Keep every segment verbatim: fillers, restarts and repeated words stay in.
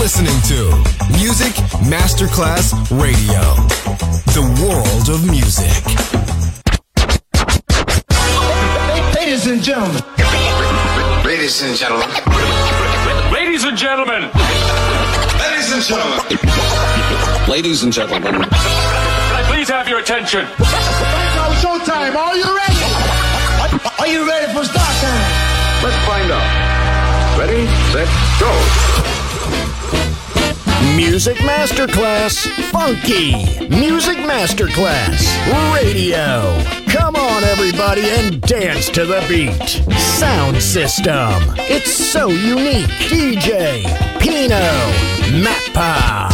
listening to Music Masterclass Radio, the world of music. Ladies and gentlemen. Ladies and gentlemen. Ladies and gentlemen. Ladies and gentlemen. Ladies and gentlemen. Can I please have your attention? It's showtime. Are you ready? Are you ready for start time? Let's find out. Ready, set, go. Music Masterclass Funky. Music Masterclass Radio. Come on, everybody, and dance to the beat. Sound system. It's so unique. D J Pino Mappa.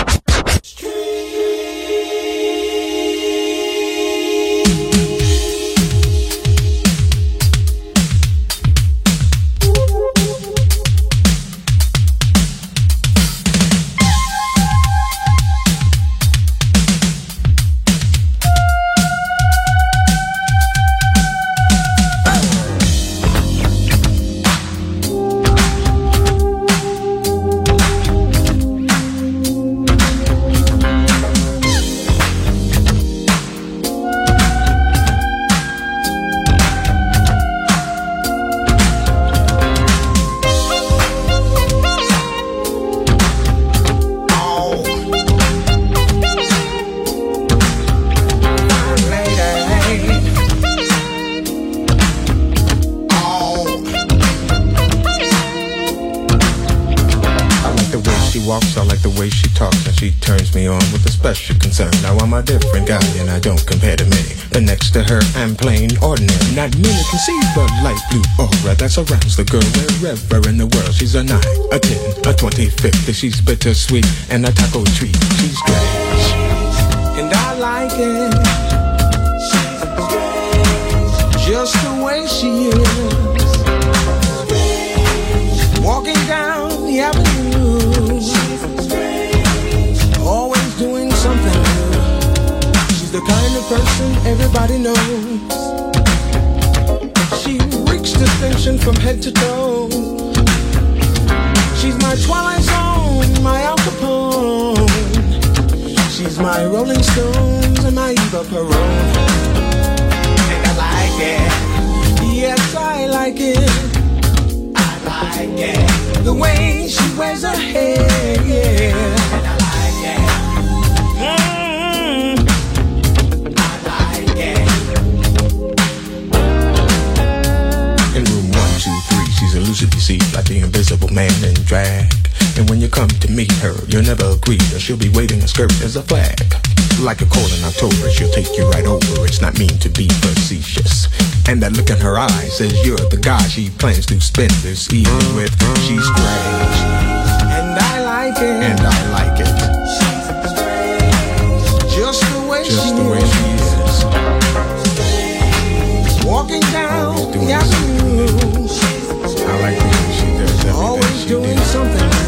Now I'm a different guy and I don't compare to many. But next to her I'm plain ordinary. Not many can see the light blue aura that surrounds the girl wherever in the world. She's a nine, a ten, a twenty, fifty. She's bittersweet and a taco treat. She's strange and I like it. She's strange, just the way she is. Walking down the avenue, always doing something new. She's the kind of person everybody knows. She reeks distinction from head to toe. She's my Twilight Zone, my Al Capone. She's my Rolling Stones and my Eva Peron. And I like it. Yes, I like it. I like it. The way she wears her hair, yeah. She's elusive, you see, like the invisible man in drag. And when you come to meet her, you'll never agree that she'll be waving a skirt as a flag. Like a cold in October, she'll take you right over. It's not mean to be facetious. And that look in her eyes says you're the guy she plans to spend this evening with. She's strange, and I like it. And I like it. She's strange, just the way just she the way is. She is. Walking down the avenue. I like the way she does everything. Always doing something new.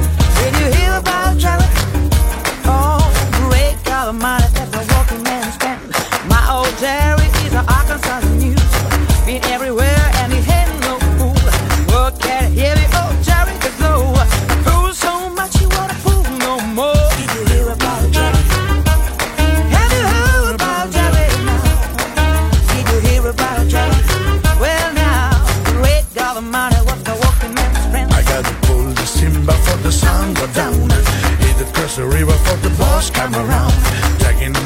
Money, that's a walking man's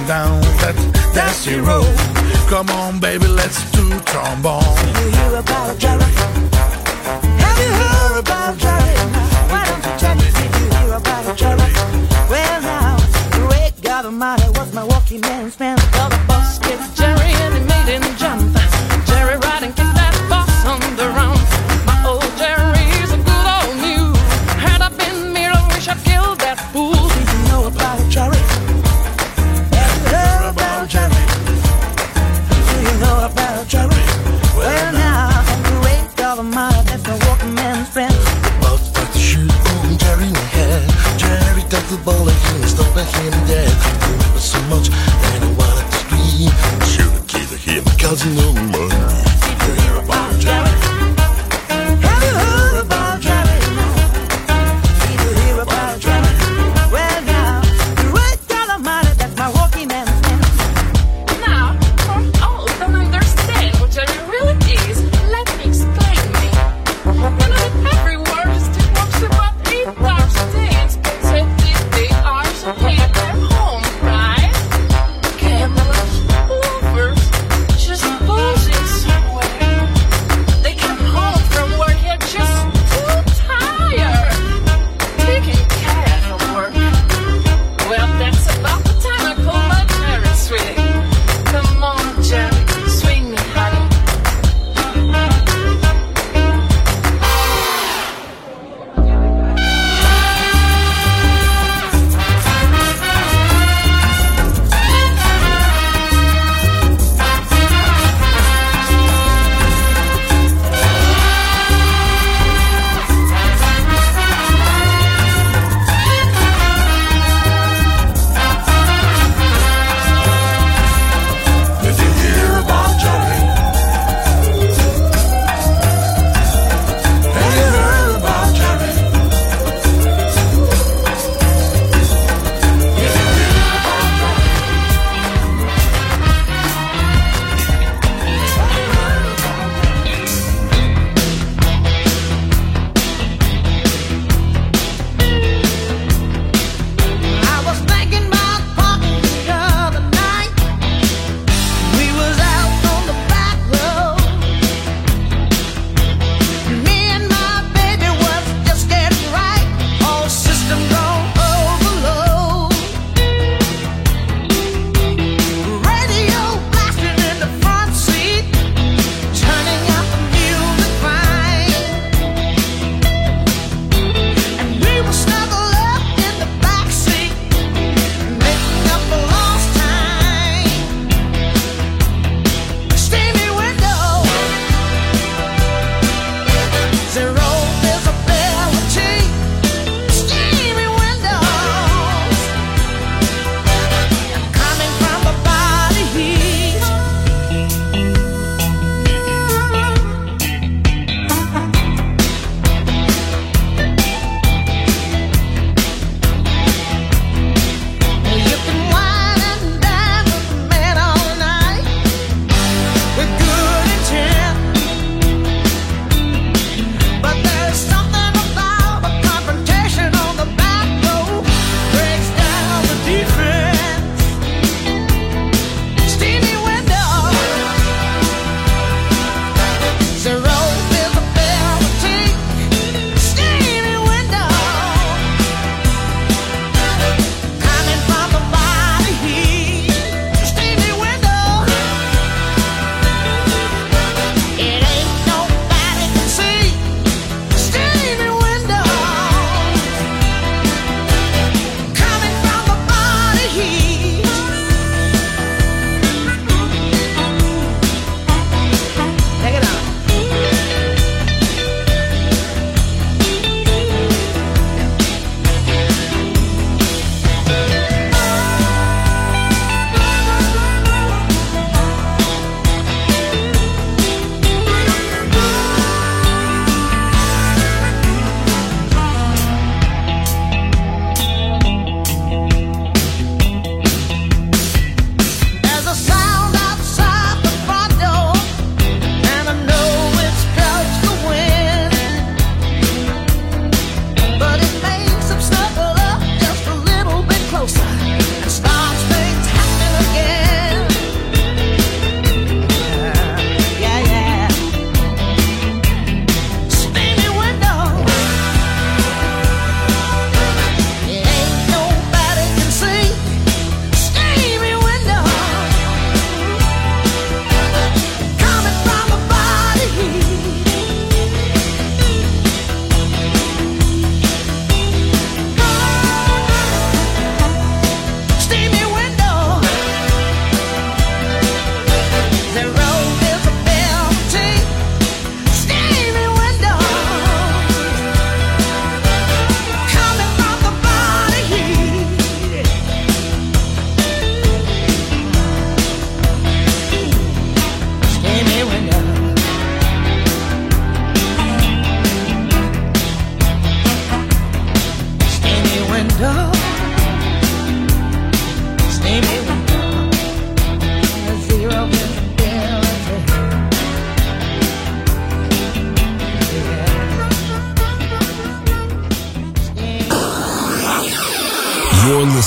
down that dusty road. Come on, baby, let's do trombone. Have you heard about Jerry? Have you heard about Jerry? Why don't you tell me if you hear about Jerry? Well, now, great God Almighty was my walking man's friend. Well, the boss gets Jerry and he made him jump. Jerry riding kicked that boss on the round. My old Jerry's a good old mule. Had I been me, I wish I'd killed that fool. Do you know about Jerry? Have you heard about Jerry? Do you know about Jerry? Well, now, great God Almighty, that's my walking man's friend. The boss took the shoes on Jerry in the head. Jerry took the ball and he stopped and him dead. He remember so much that I wanted to scream. Shoot a kid to him because you know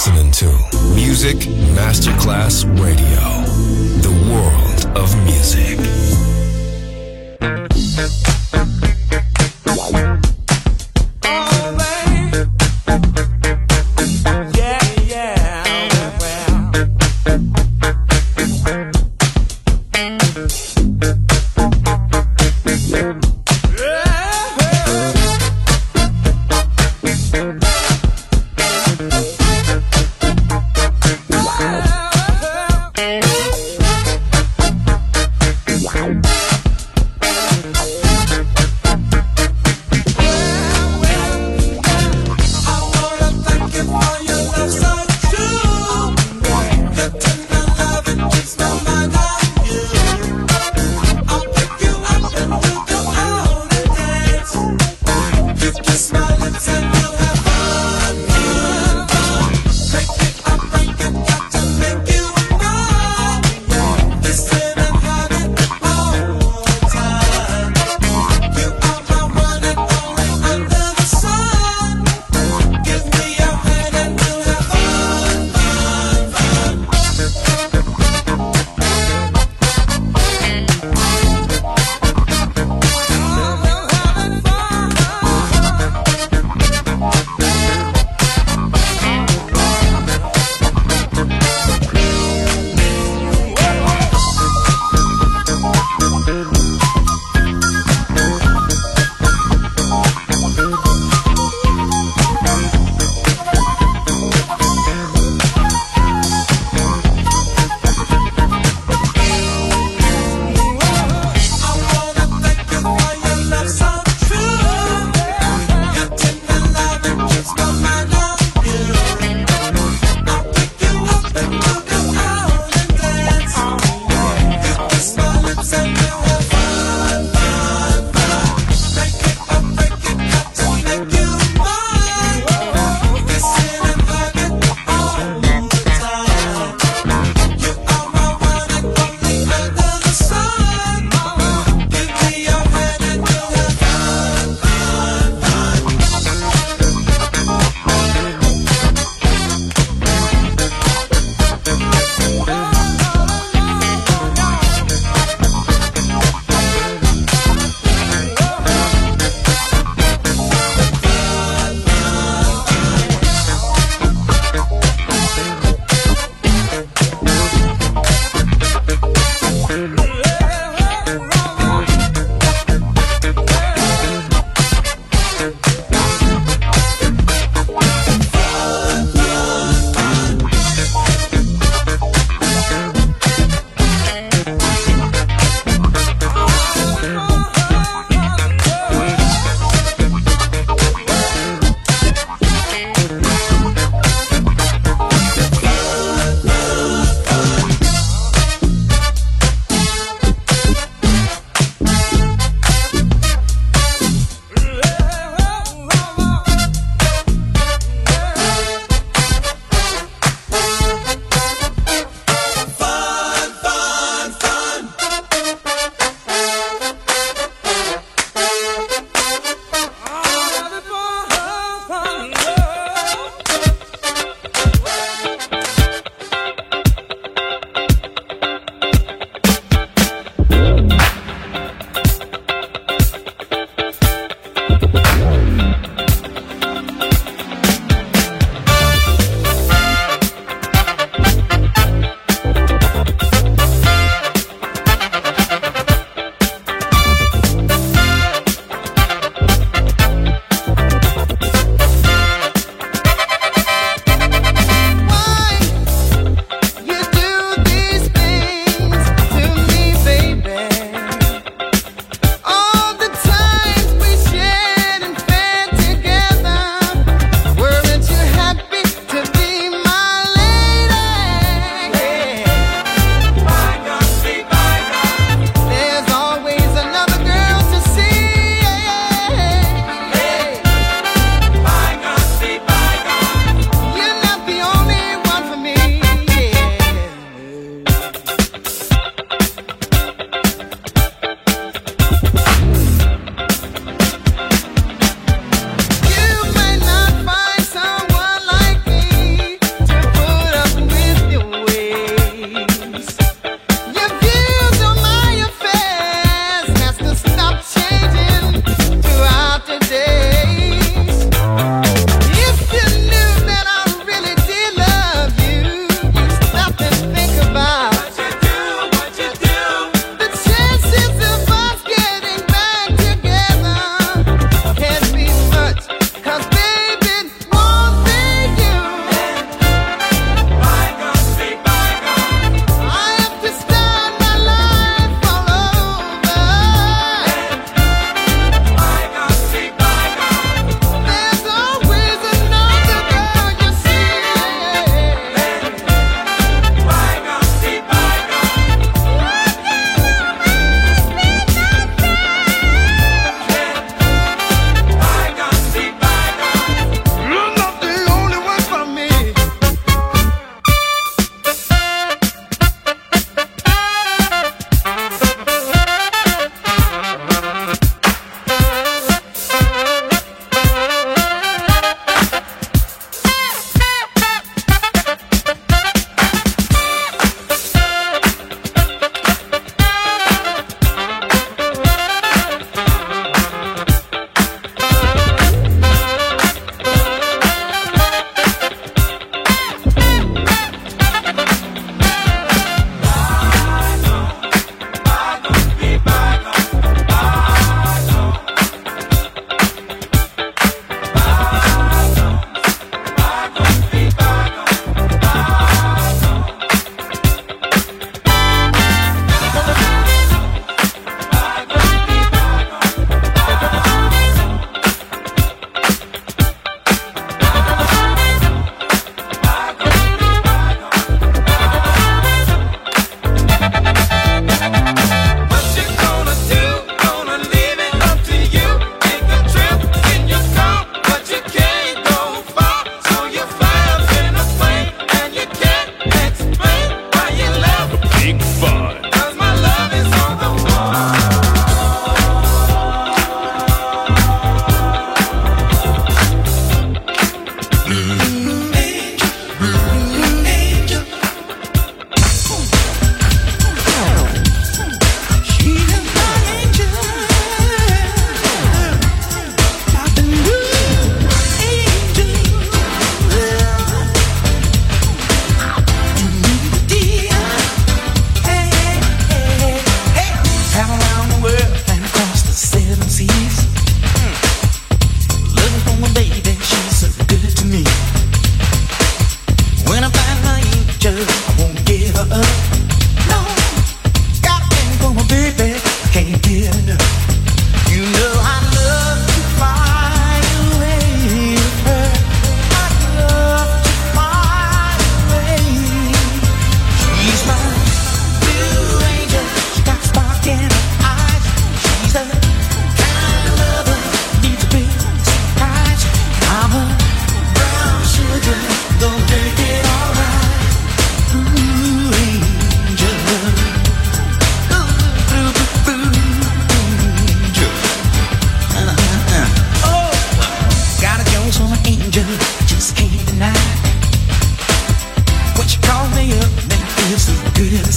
listening to Music Masterclass Radio, the world of music. Tonight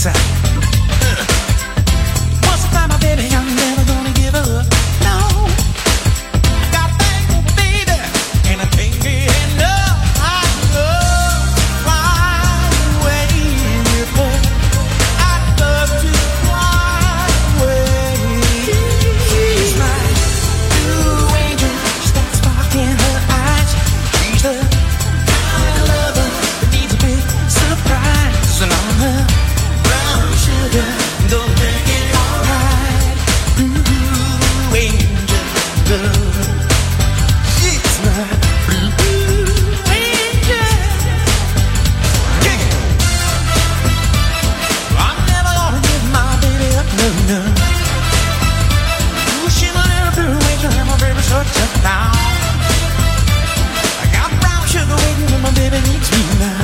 inside. Once I find my baby, I'm never gonna give up. No, I got a thing for my baby, and I can't get enough. I love to fly away with her. I love to fly away. She's my blue angel. She's got a spark in her eyes. She's the kind of lover that needs a big surprise, and I'm her brown sugar. Don't make it alright. Blue angel love. She's my blue angel. Kick it. I'm never gonna give my baby up, no, no. Ooh, she's a little blue angel, and my baby's so tough now. I got brown sugar waiting when my baby needs me now.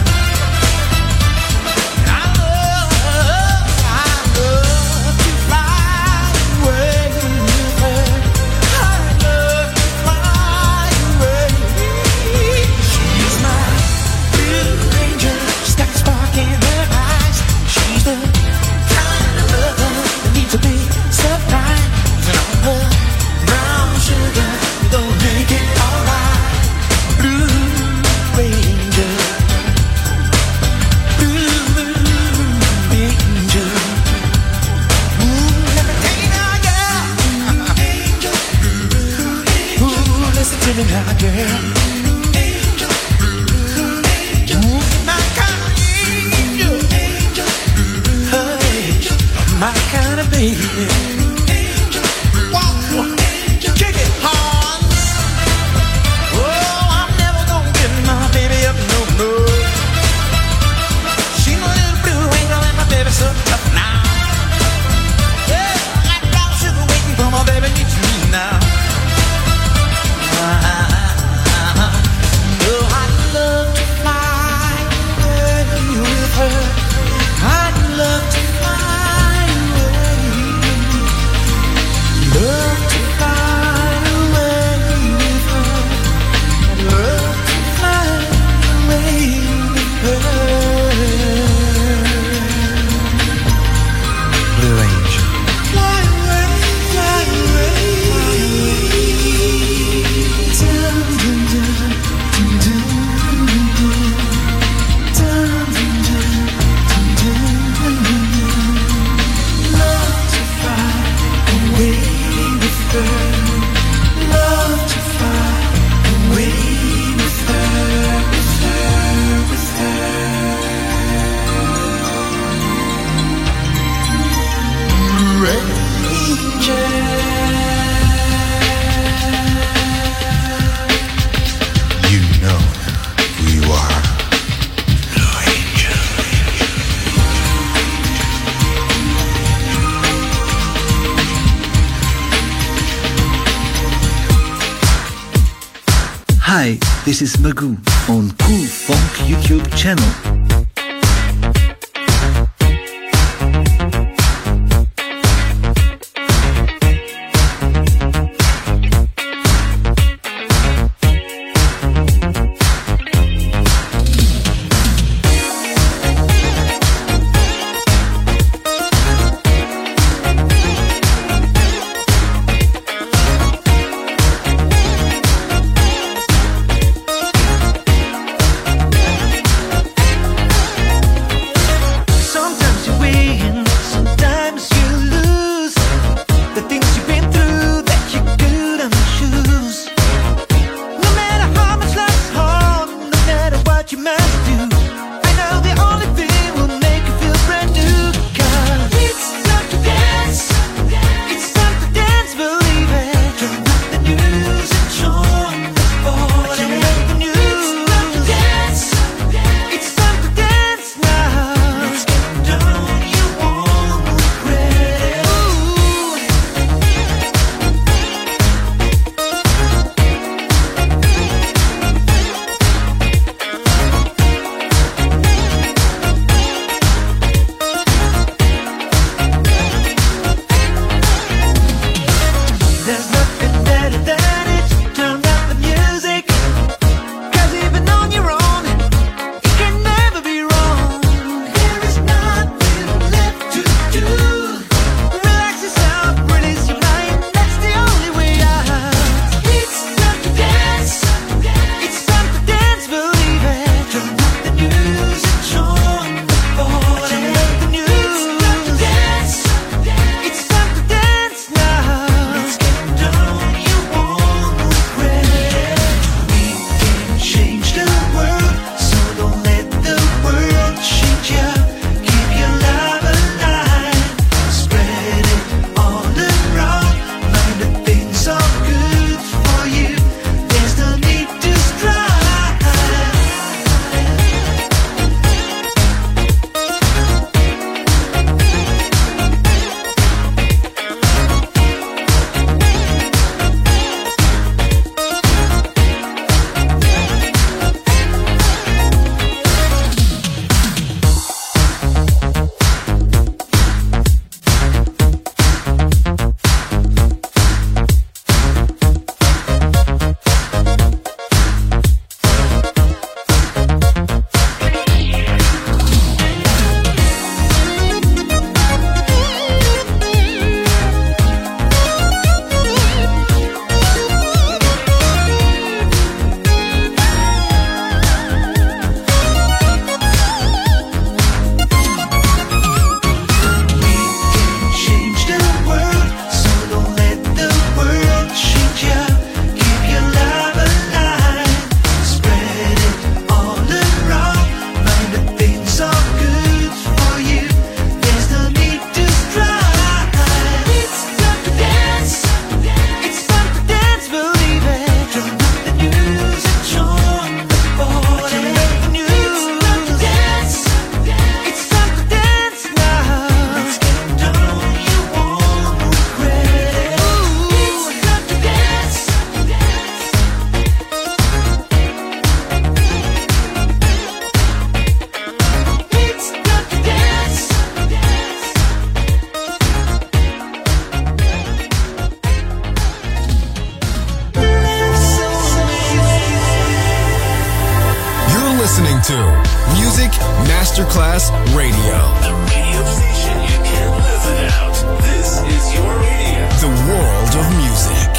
And I love, I love to fly away with her. I love to fly away. She's my blue angel. She's got a spark in her eyes. She's the kind of lover that needs a big surprise. And I'm her brown sugar. Don't make it alright. Blue angel. Blue angel. Ooh, let me tell you now, girl. Angel. Ooh, listen to me now, girl. Angel. Angel. Ooh, my kind of angel. Angel. Hey, my kind of baby. Angel. Whoa. Kick it hard. Oh, I'm never gonna give my baby up, no, no. She's a little blue angel and my baby's so tough now. Yeah, I got brown sugar waiting for my baby needs me now. Oh, I'd love to fly away with her. I'd love to fly away. Love to fly away with her. I'd love to fly away with her. Blue angel. Fly away, fly away, fly away. Dun, dun, dun, dun, dun, dun, dun, dun, dun. Love to fly away with her. Love to fly away with her, with her, with her. You know who you are. Blue angel. Hi, this is Magoo on Cool Funk YouTube channel. Masterclass Radio. The radio station you can't live without. This is your radio. The world of music.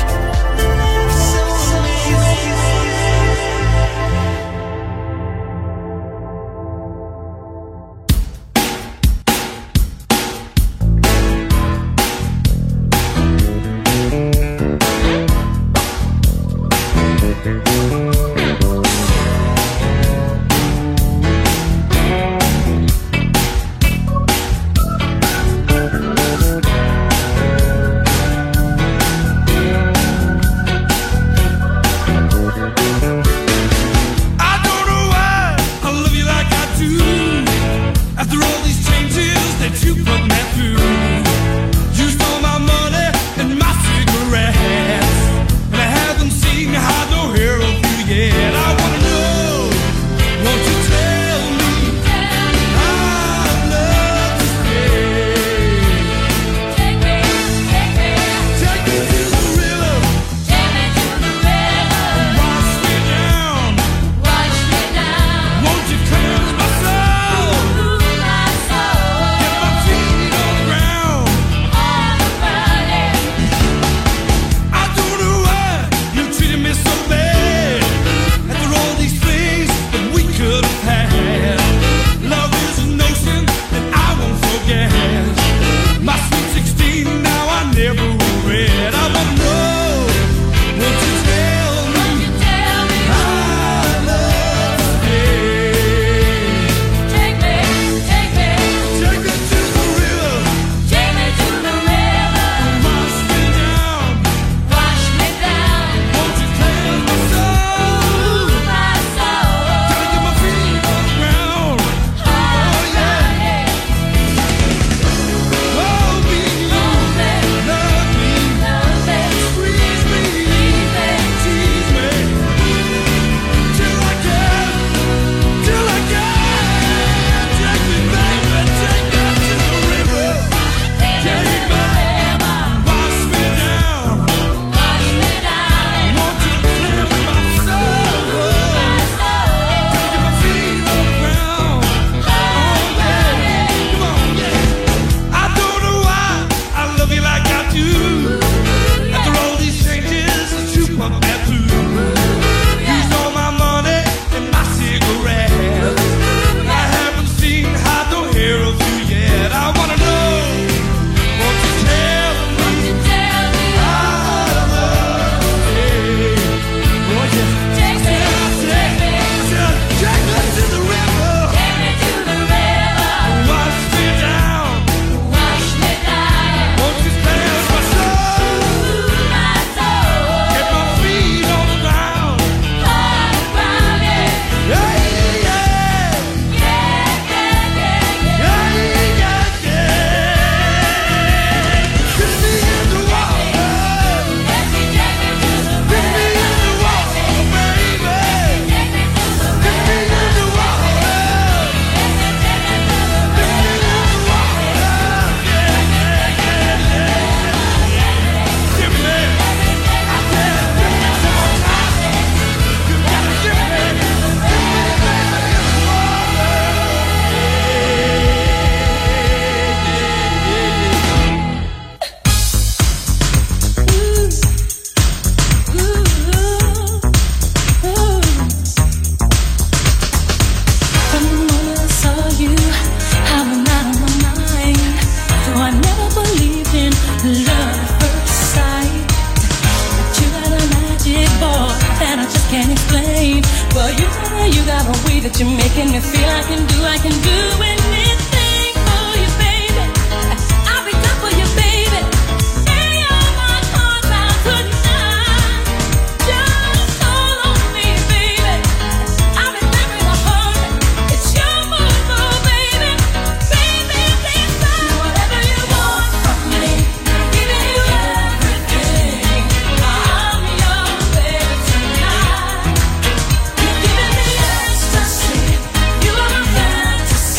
Fantasy.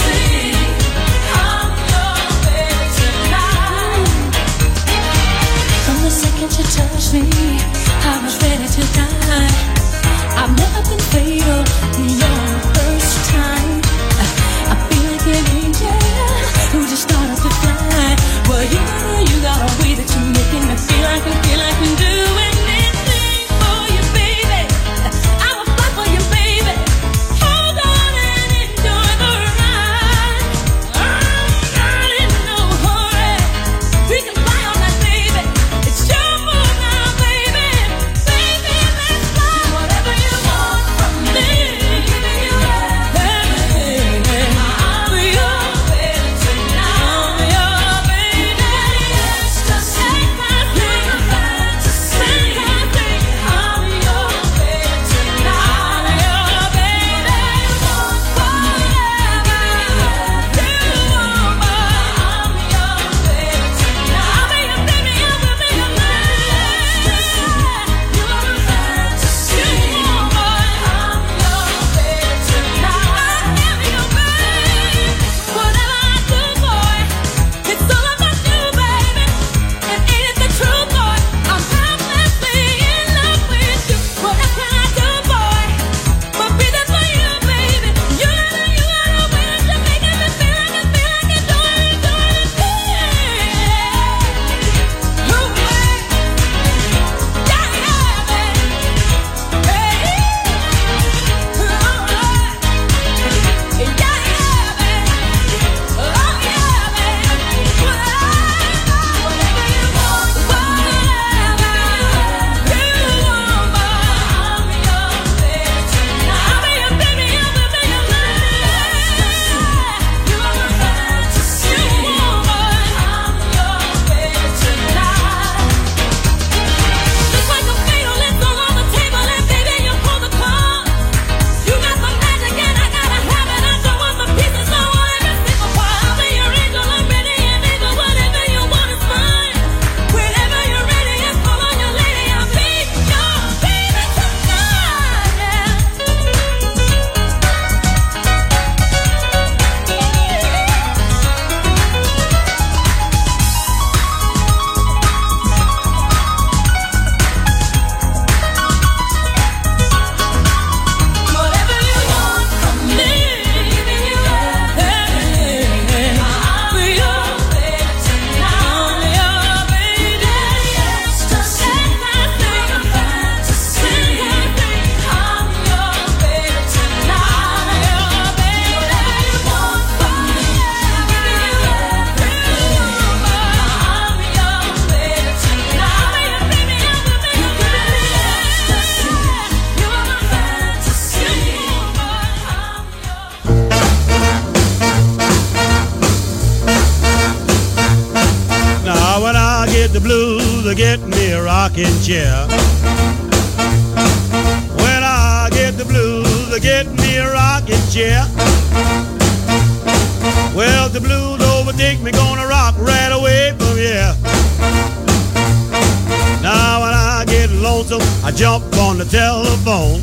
get the blues, I get me a rocking chair. When I get the blues, I get me a rocking chair. Well, the blues overtake me, gonna rock right away from here. Now when I get lonesome, I jump on the telephone.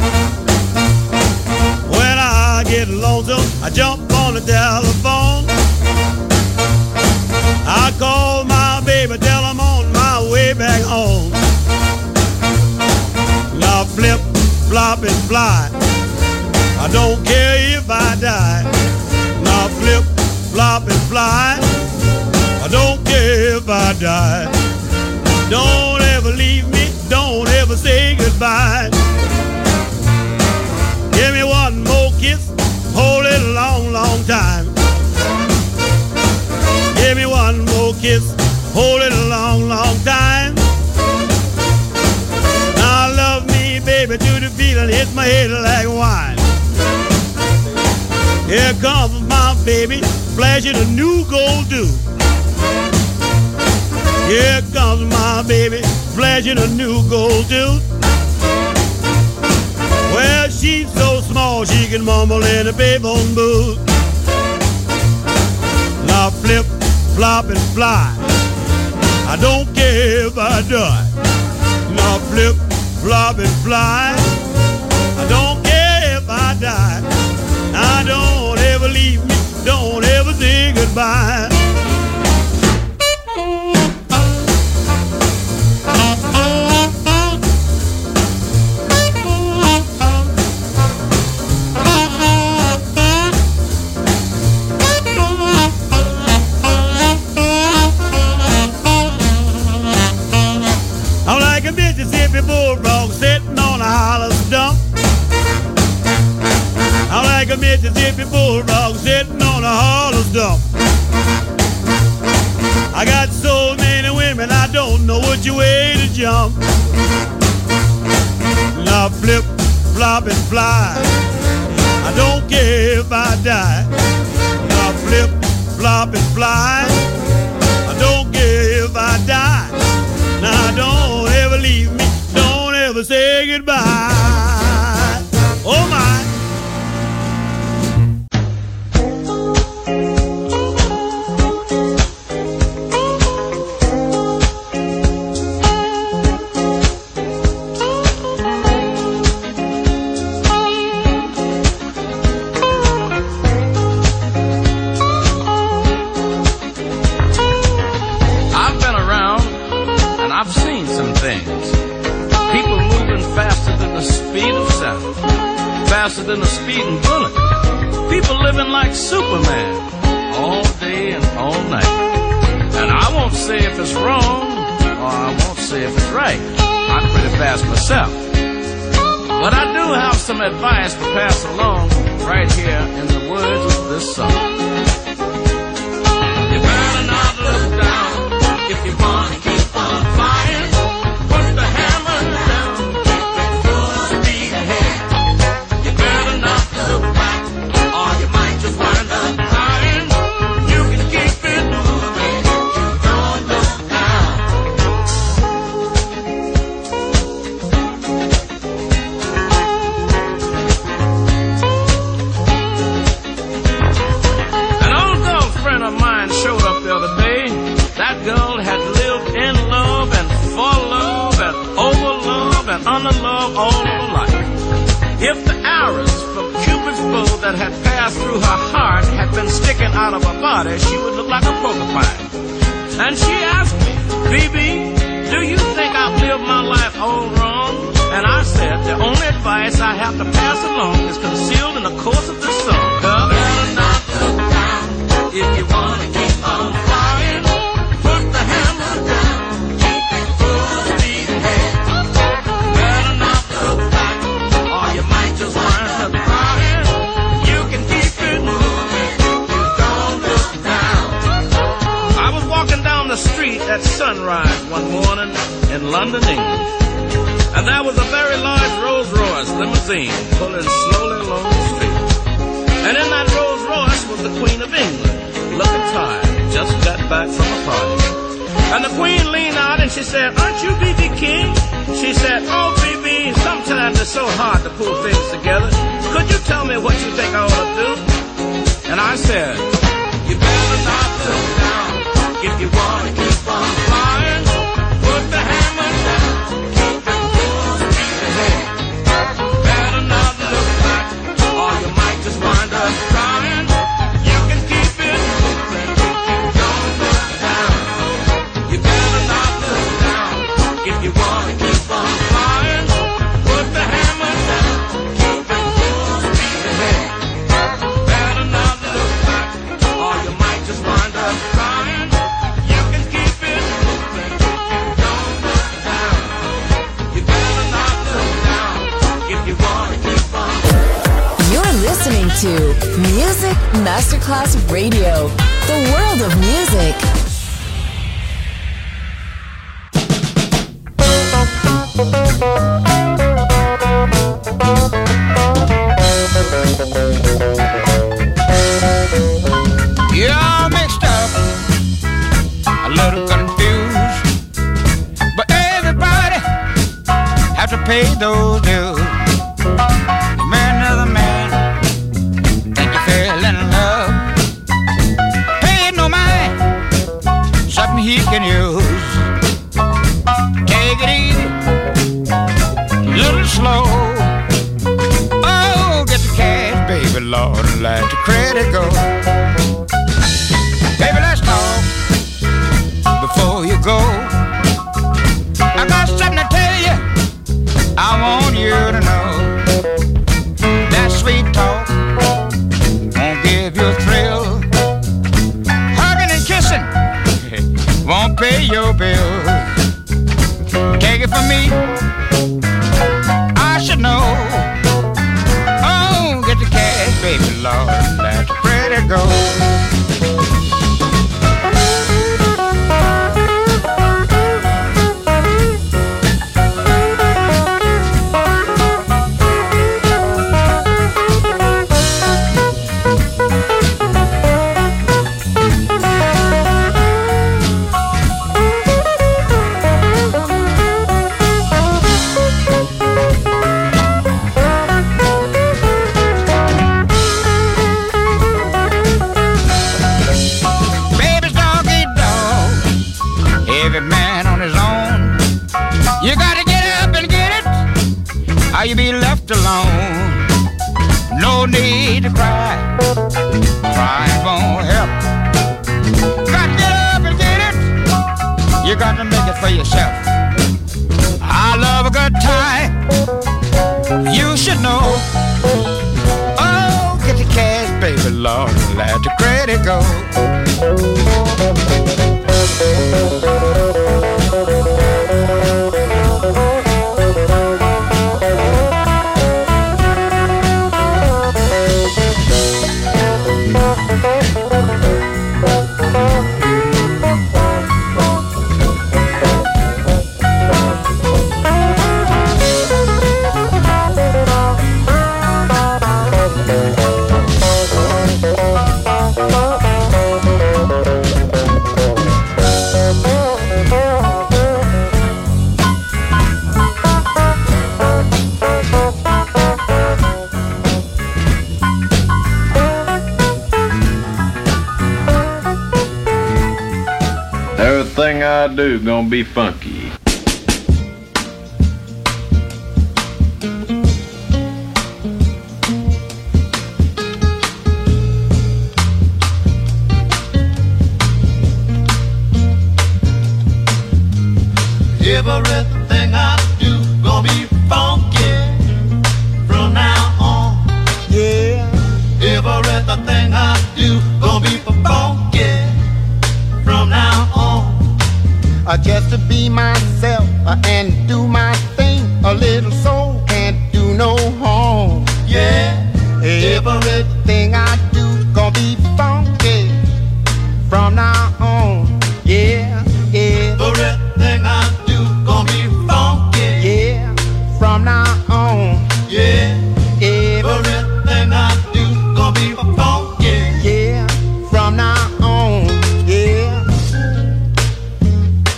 When I get lonesome, I jump on the telephone. I call my baby, tell I'm on my way back home. Now flip, flop, and fly, I don't care if I die. Now flip, flop, and fly, I don't care if I die. Don't ever leave me, don't ever say goodbye. Give me one more kiss, hold it a long, long time. Give me one more kiss, hold it a long, long time. Now love me, baby, to the feeling hits my head like wine. Here comes my baby, flashing a new gold tooth. Here comes my baby, flashing a new gold tooth. Well, she's so small she can mumble in a payphone booth. Now flip, flop, and fly, I don't care if I die. Now flip, flop, and fly, I don't care if I die. Now don't ever leave me, don't ever say goodbye. I'm like a Mississippi bulldog sitting on a hollow stump. I'm like a Mississippi bulldog sitting on a hollow stump. I got so many women I don't know which way to jump. Now flip, flop, and fly, I don't care if I die. Now flip, flop, and fly, I don't care if I die. Now don't ever leave me, don't ever say goodbye. Oh my. Faster than a speeding bullet. People living like Superman all day and all night. And I won't say if it's wrong, or I won't say if it's right. I'm pretty fast myself. But I do have some advice to pass along right here in the words of this song. You better not look down if you want to keep on flying. Put the hammer down, keep it full speed ahead. You better not look back, or you might just wind up crying. You can keep it moving, don't look down. An old girlfriend of mine showed up the other day. That girl had lived in love and for love and over love and under love all of her life. If the arrows from Cupid's bow that had passed through her heart had been sticking out of her body, she would look like a porcupine. And she asked me, B B, do you think I've lived my life all wrong? And I said, the only advice I have to pass along is concealed in the course of this song. Girl, better not look down if you want to keep on flying. Put the hammer down, keep it full speed ahead. Better not look back, or you might just wind up crying. You can keep it moving, don't look down. I was walking down the street at sunrise one morning in London, England. And there was a very large Rolls Royce limousine pulling slowly along the street. And in that Rolls Royce was the Queen of England, looking tired, just got back from a party. And the queen leaned out and she said, aren't you B B King? She said, oh, B B, sometimes it's so hard to pull things together. Could you tell me what you think I ought to do? And I said, you better not look down if you want to keep on flying. Put the hammer down, keep it full speed ahead. Better not look back or you might just wind up crying. You can keep it moving if you don't look down. You better not look down if you want to keep on flying. Put the hammer down, keep it full speed ahead. Better not look back or you might just wind up crying. You can keep it moving if you don't look down. You better not look down if you want to keep on. You're listening to Music Masterclass Radio, the world of music. You're all mixed up, a little confused, but everybody have to pay those dues. You marry another man, and you fell in love. Pay no mind, something he can use. Take it easy, a little slow. Oh, get the cash, baby, Lord, and let the credit go. Baby, let's talk before you go. I got something to tell you, I want you to know. That sweet talk won't give you a thrill. Hugging and kissing won't pay your bills. Take it from me, I should know. Oh, get the cash, baby, Lord, let the credit go. How you be left alone? No need to cry, crying won't help. Got to get up and get it. You got to make it for yourself. I love a good time, you should know. Oh, get the cash, baby, Lord, let the credit go. Everything I do gonna be funky. Everything I do gonna be funky from now on. Yeah. Everything I do gonna be funky from now on. Uh, just to be myself uh, and do my thing. A little soul can't do no harm. Yeah. Everything I do gonna be funky from now on. Yeah, yeah. Everything I do gonna be funky. Yeah, from now on. Yeah. Everything I do gonna be funky. Yeah, from now on. Yeah.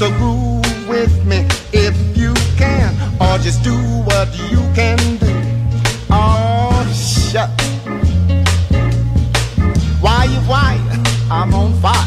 So groove with me if you can, or just do what you can do. Oh, shut. Why you why? I'm on fire.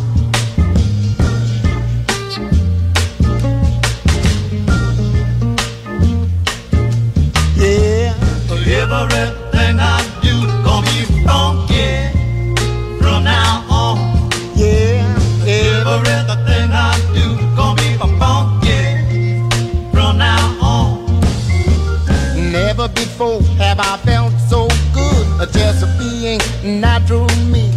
Yeah. Everything I do gonna be funky from now on. Yeah. Everything I do gonna be funky from now on. Never before have I felt so good, just being natural me.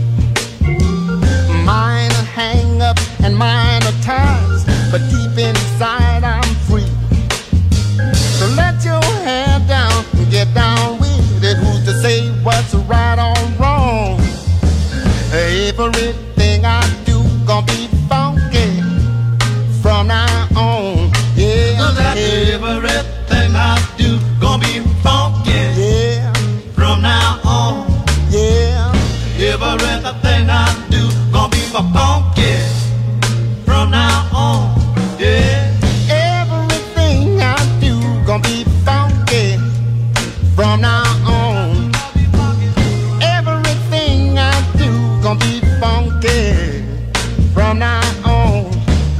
Minor hang up and minor ties, but deep inside I'm free. So let your hair down and get down with it. Who's to say what's right or wrong? Everything I do gonna be funky from now on. Yeah, so that yeah. Everything I do gonna be funky. Yeah, from now on. Yeah, everything I do gonna be funky from now on. Yeah, everything I do gonna be funky from now on. Everything I do gonna be funky from now on.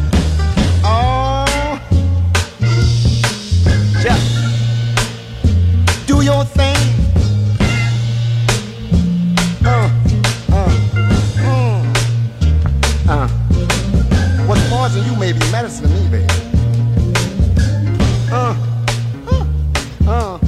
Oh, just do your thing. Uh, uh, mm, uh. What's poison you may be medicine to me, baby. Uh, uh, uh.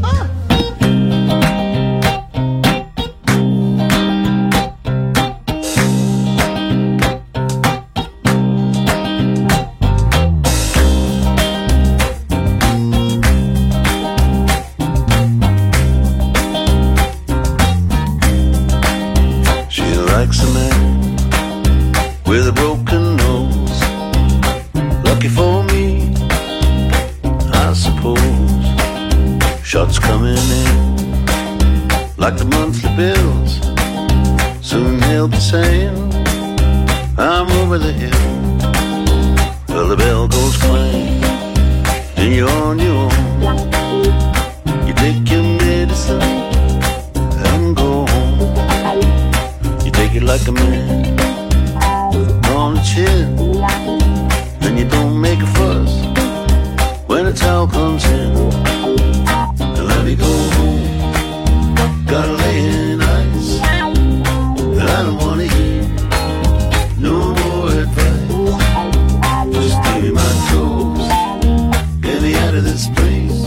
Likes a man with a broken nose. Lucky for me, I suppose. Shots coming in like the monthly bills. Soon he'll be saying, I'm over the hill. Well, the bell goes clang, and you're on your own. You take your medicine and go home. Take it like a man on the chin, and you don't make a fuss when the towel comes in. And let me go home, gotta lay in ice, and I don't wanna hear no more advice. Just give me my clothes, get me out of this place.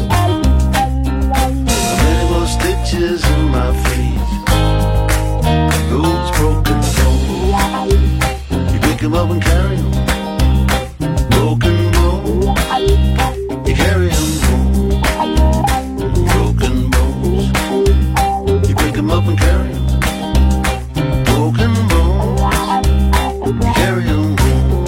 Many more stitches in my face. Those broken bones, you pick them up and carry them. Broken bones, you carry them home. Broken bones, you pick them up and carry them. Broken bones, you carry them home.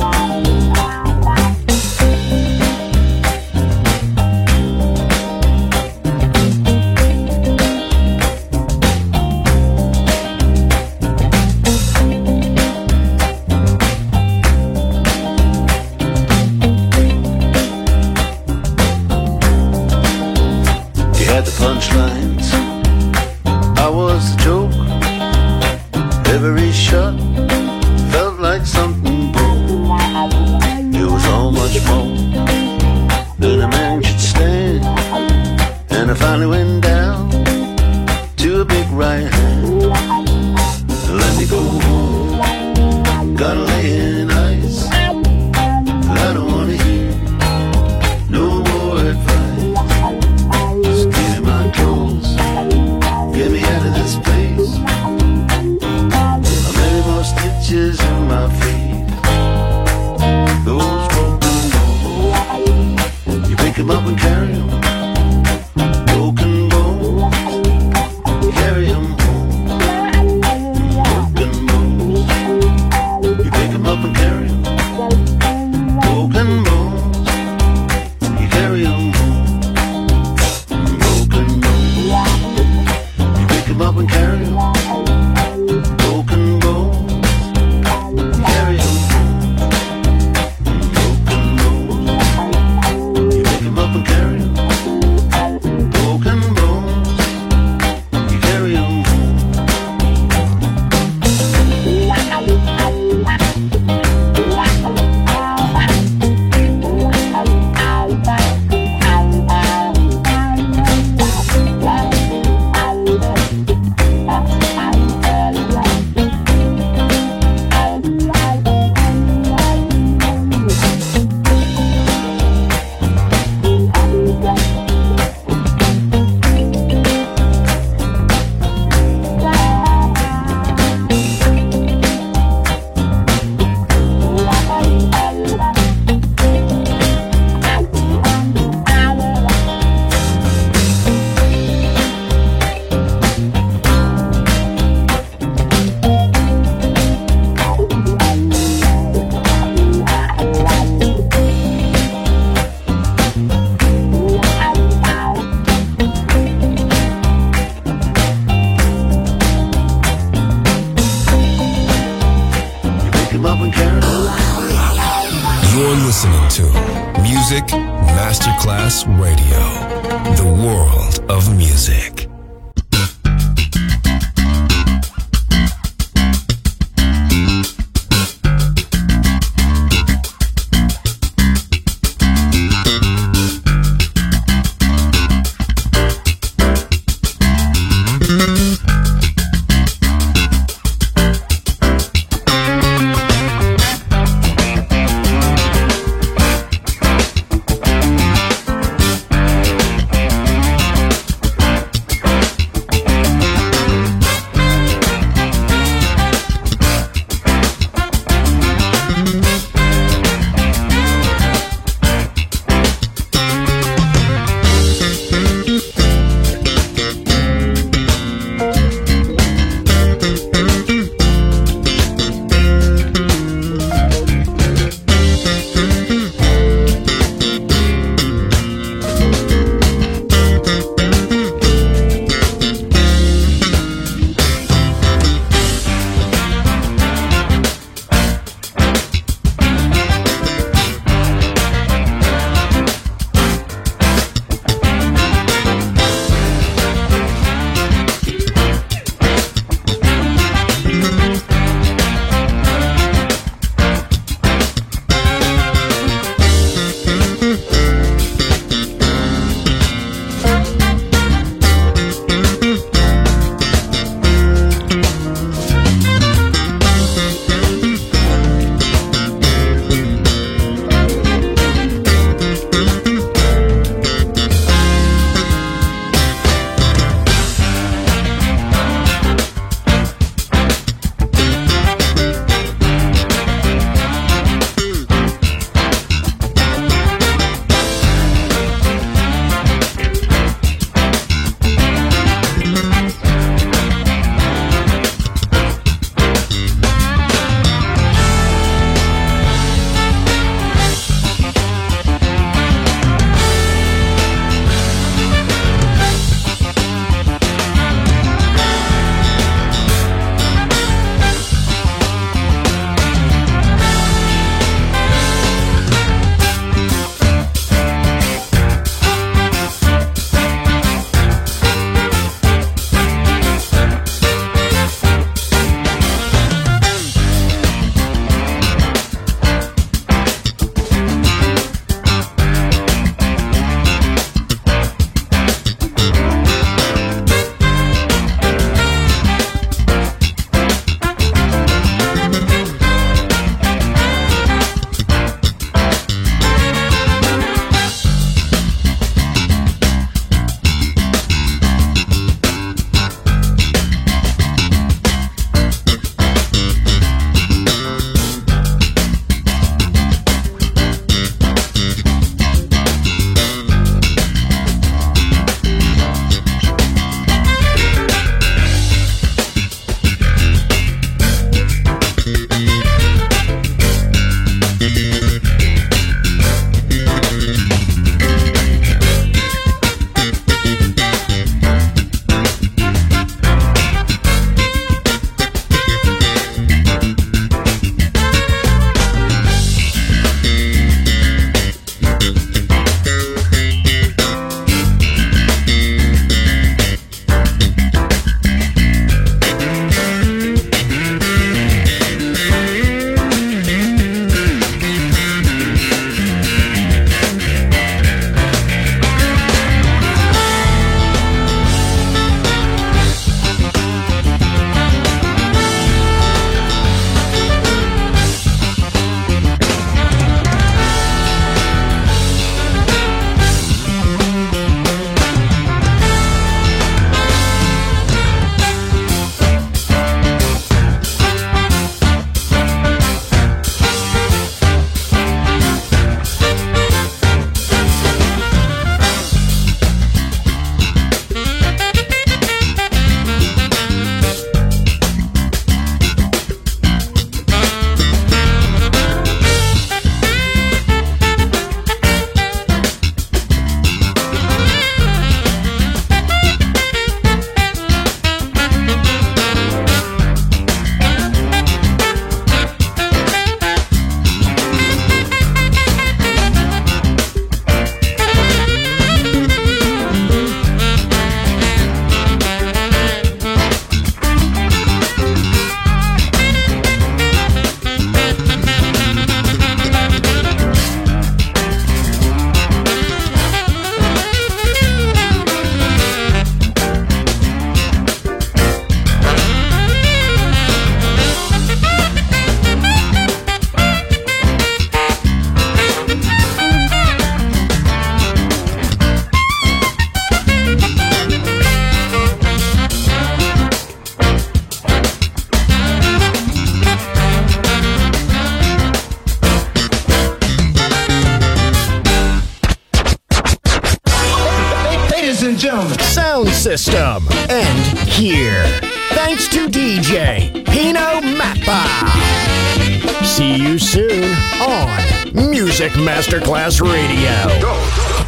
Punchlines, I was the joke. Every shot felt like something broke. It was all much more than a man should stand. And I finally went down to a big right hand. Let me go home, gotta lay in ice. I don't wanna hear no more advice. Get me out of this place. Many more stitches in my feet. Those broken bones, you pick them up and carry them. Broken bones, you carry them home. Broken bones, you pick them up and carry them. Broken bones, you carry them home. Up and carry them. Broken bones, carry them home. Broken listening to Music Masterclass Radio, the world of music. gentlemen. Sound system. And here. Thanks to D J Pino Mappa. See you soon on Music Masterclass Radio. Go.